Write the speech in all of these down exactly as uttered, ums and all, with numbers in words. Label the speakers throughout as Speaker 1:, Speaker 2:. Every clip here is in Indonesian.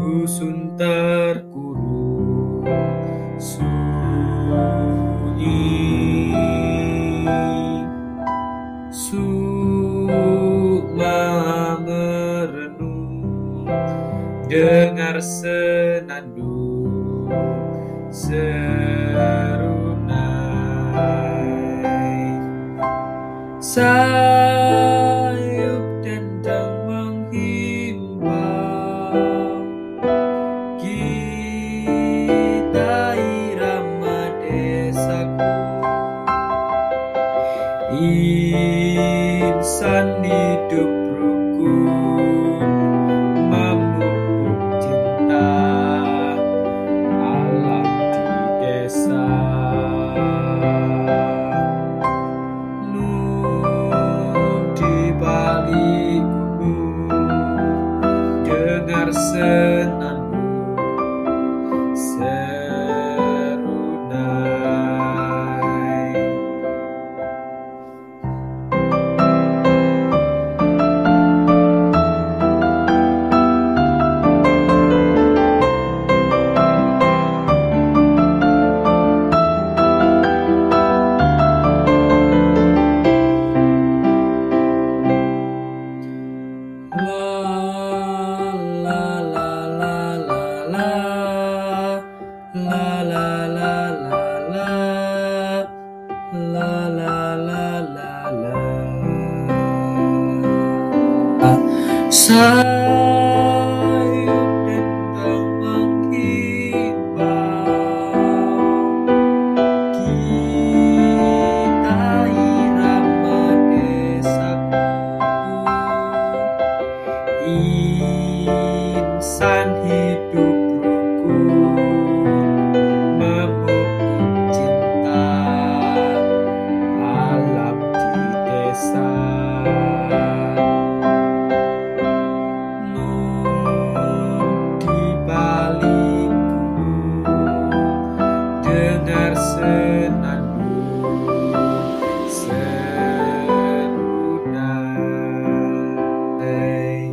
Speaker 1: dusun terkurung sunyi, sukma merenung, dengar senandung serunai, sayup dendang menghimbau, kita irama desaku, insan hidup rukun memupuk cinta alam di desa. Nun di balik gunung, dengar senandung serunai. Sayup dendang menghimbau, kita irama desaku, insan hidup rukun memupuk cinta alam di desa. Nun di balik gunung, dengar senandung serunai.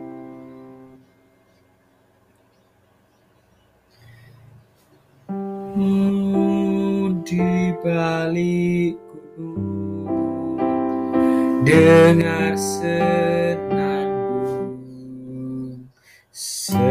Speaker 1: Nun di balik gunung, dengar senandung serunai.